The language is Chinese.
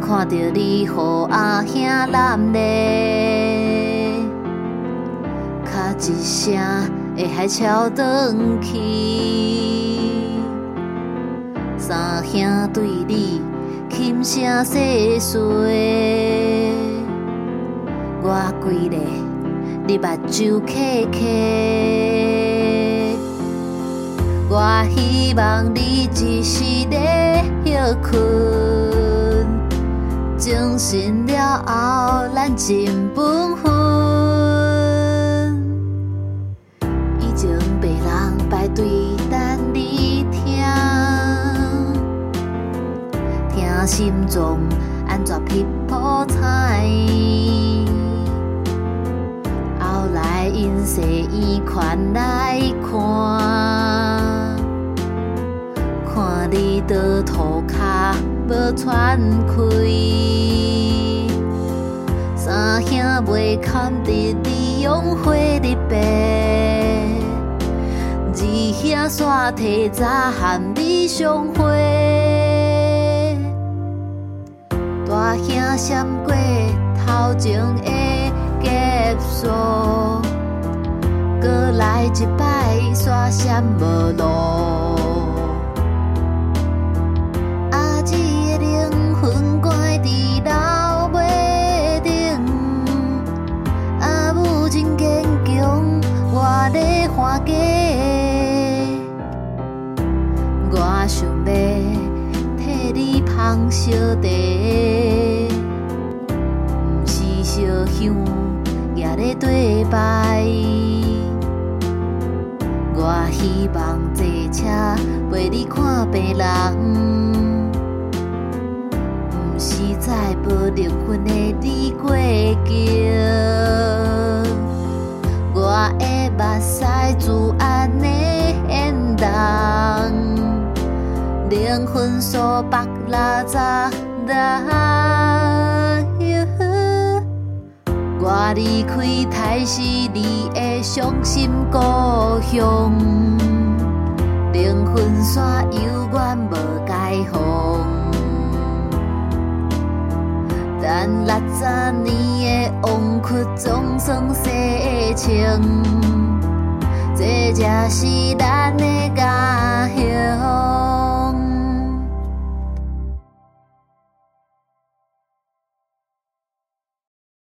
看到你予阿兄攬咧，卡一聲會海潮轉去，三兄對你輕聲細碎，我規個你目睭刻刻，我希望你一時咧休困，精神了後咱真分分。以前別人排隊等你聽，聽心臟安怎劈破彩。後來因西醫款來看，看你倒塗骹無喘開，三兄袂堪得你用火入白，二兄煞提早和你相會，大兄閃過頭前的結束，閣來一擺煞閃無路。阿姊的靈魂關佇樓尾頂，阿母真堅強，我咧還價。我想要替你芳燒茶，毋是燒香也咧對拜。我希望坐車陪你看病人，毋是在無靈魂的你過橋。我的目屎自安的緣動，靈魂所縛拉雜人。我離開台是你的傷心故鄉，靈魂線永遠無解放。但60年的枉屈總算洗清，這才是咱的家鄉。